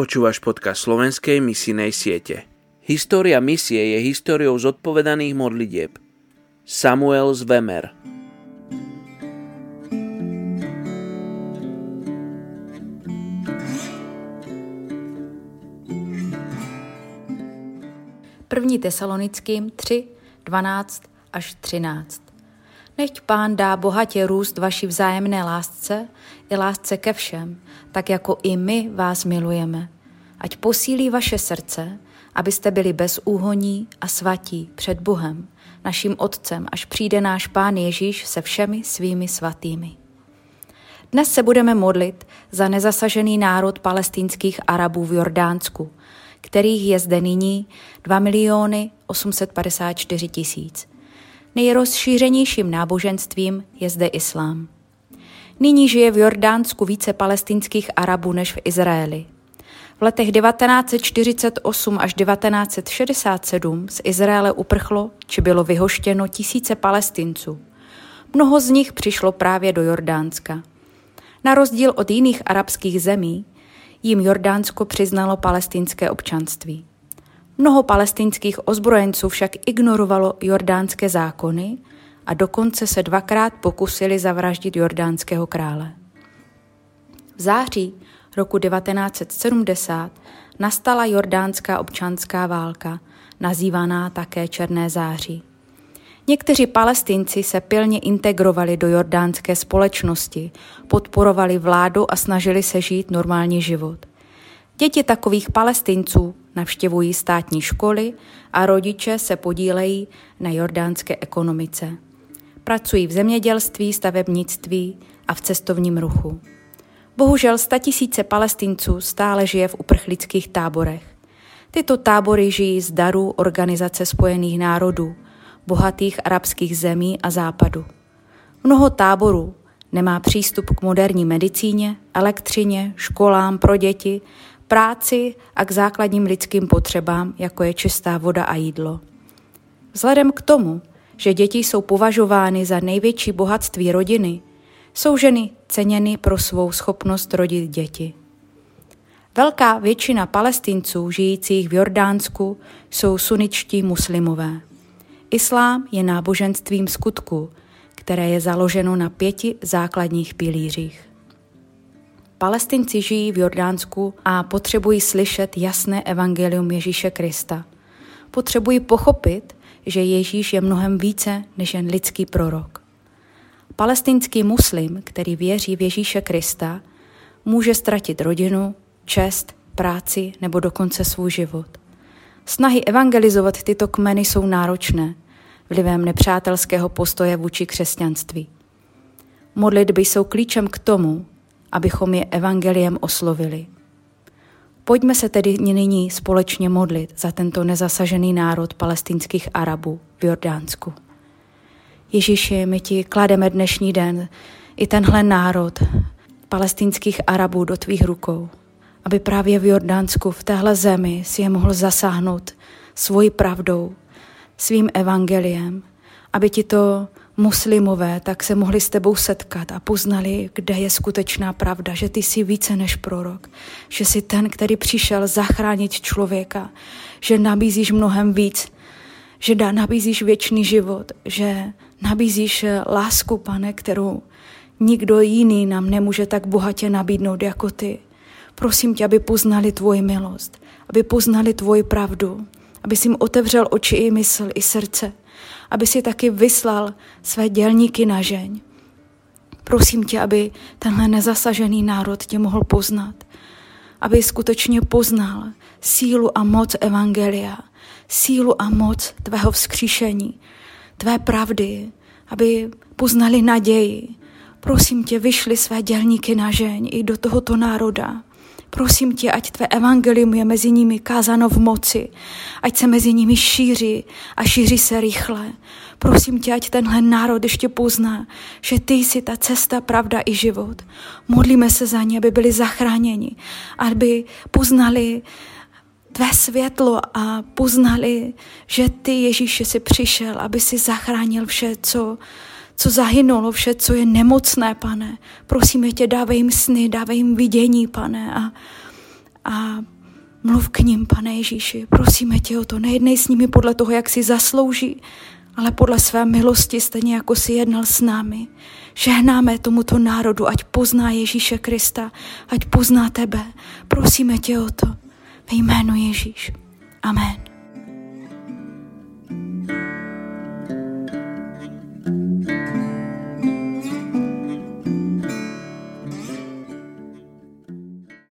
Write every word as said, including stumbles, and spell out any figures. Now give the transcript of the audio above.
Počúvaš podcast Slovenskej misijnej siete. História misie je históriou zodpovedaných modlitieb. Samuel Zvemer. První Tesalonickým tři, dvanáct až třináct. Nechť Pán dá bohatě růst vaší vzájemné lásce i lásce ke všem, tak jako i my vás milujeme. Ať posílí vaše srdce, abyste byli bezúhonní a svatí před Bohem, naším Otcem, až přijde náš Pán Ježíš se všemi svými svatými. Dnes se budeme modlit za nezasažený národ palestinských Arabů v Jordánsku, kterých je zde nyní dva miliony osm set padesát čtyři tisíc. Nejrozšířenějším náboženstvím je zde islám. Nyní žije v Jordánsku více palestinských Arabů než v Izraeli. V letech devatenáct set čtyřicet osm až devatenáct set šedesát sedm z Izraele uprchlo či bylo vyhoštěno tisíce Palestinců. Mnoho z nich přišlo právě do Jordánska. Na rozdíl od jiných arabských zemí jim Jordánsko přiznalo palestinské občanství. Mnoho palestinských ozbrojenců však ignorovalo jordánské zákony a dokonce se dvakrát pokusili zavraždit jordánského krále. V září roku devatenáct set sedmdesát nastala jordánská občanská válka, nazývaná také Černé září. Někteří Palestinci se pilně integrovali do jordánské společnosti, podporovali vládu a snažili se žít normální život. Děti takových Palestinců navštěvují státní školy a rodiče se podílejí na jordánské ekonomice. Pracují v zemědělství, stavebnictví a v cestovním ruchu. Bohužel statisíce Palestinců stále žije v uprchlických táborech. Tyto tábory žijí z darů Organizace spojených národů, bohatých arabských zemí a západu. Mnoho táborů nemá přístup k moderní medicíně, elektřině, školám pro děti, práci a k základním lidským potřebám, jako je čistá voda a jídlo. Vzhledem k tomu, že děti jsou považovány za největší bohatství rodiny, jsou ženy ceněny pro svou schopnost rodit děti. Velká většina Palestinců žijících v Jordánsku jsou sunničtí muslimové. Islám je náboženstvím skutku, které je založeno na pěti základních pilířích. Palestinci žijí v Jordánsku a potřebují slyšet jasné evangelium Ježíše Krista. Potřebují pochopit, že Ježíš je mnohem více než jen lidský prorok. Palestinský muslim, který věří v Ježíše Krista, může ztratit rodinu, čest, práci nebo dokonce svůj život. Snahy evangelizovat tyto kmeny jsou náročné, vlivem nepřátelského postoje vůči křesťanství. Modlitby jsou klíčem k tomu, abychom je evangeliem oslovili. Pojďme se tedy nyní společně modlit za tento nezasažený národ palestinských Arabů v Jordánsku. Ježíši, my ti klademe dnešní den i tenhle národ palestinských Arabů do tvých rukou, aby právě v Jordánsku, v téhle zemi, si je mohl zasáhnout svojí pravdou, svým evangeliem, aby ti to muslimové tak se mohli s tebou setkat a poznali, kde je skutečná pravda, že ty jsi více než prorok, že jsi ten, který přišel zachránit člověka, že nabízíš mnohem víc, že dá, nabízíš věčný život, že nabízíš lásku, Pane, kterou nikdo jiný nám nemůže tak bohatě nabídnout jako ty. Prosím tě, aby poznali tvoji milost, aby poznali tvoji pravdu, aby jsi jim otevřel oči i mysl, i srdce, aby si taky vyslal své dělníky na žeň. Prosím tě, aby tenhle nezasažený národ tě mohl poznat, aby skutečně poznal sílu a moc evangelia, sílu a moc tvého vzkříšení, tvé pravdy, aby poznali naději. Prosím tě, vyšli své dělníky na žeň i do tohoto národa. Prosím tě, ať tvé evangelium je mezi nimi kázáno v moci, ať se mezi nimi šíří a šíří se rychle. Prosím tě, ať tenhle národ ještě pozná, že ty jsi ta cesta, pravda i život. Modlíme se za ně, aby byli zachráněni, aby poznali tvé světlo a poznali, že ty, Ježíši, jsi přišel, aby si zachránil vše, co co zahynulo, vše, co je nemocné, Pane. Prosíme tě, dávej jim sny, dávej jim vidění, Pane, a a mluv k ním, Pane Ježíši. Prosíme tě o to, nejednej s nimi podle toho, jak si zaslouží, ale podle své milosti, stejně jako si jednal s námi. Žehnáme tomuto národu, ať pozná Ježíše Krista, ať pozná tebe. Prosíme tě o to ve jménu Ježíš. Amen.